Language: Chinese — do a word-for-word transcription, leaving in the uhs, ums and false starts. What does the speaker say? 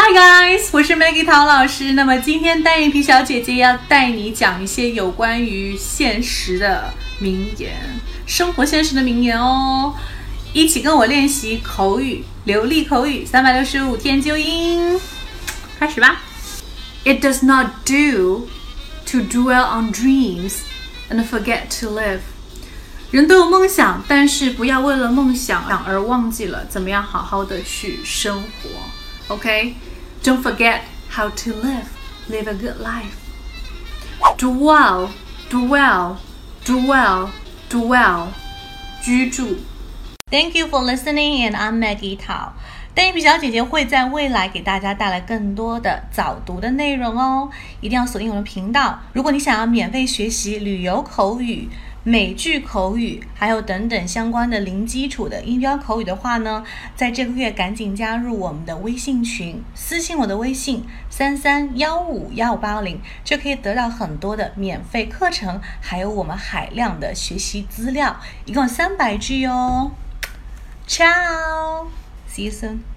Hi guys， 我是 Maggie 陶老师。那么今天单眼皮小姐姐要带你讲一些有关于现实的名言，生活现实的名言哦。一起跟我练习口语，流利口语，三百六十五天纠音。开始吧。It does not do to dwell on dreams and forget to live。人都有梦想，但是不要为了梦想而忘记了怎么样好好的去生活。OK， Don't forget how to live. Live a good life. Dwell, dwell, dwell, dwell. 居住。Thank you for listening, and I'm Maggie Tao. 单眼皮小姐姐会在未来给大家带来更多的早读的内容哦，一定要锁定我的频道。如果你想要免费学习旅游口语、美剧口语，还有等等相关的零基础的音标口语的话呢，在这个月赶紧加入我们的微信群，私信我的微信三三一五一五八零，就可以得到很多的免费课程，还有我们海量的学习资料，一共三百句哦。Ciao, see you soon.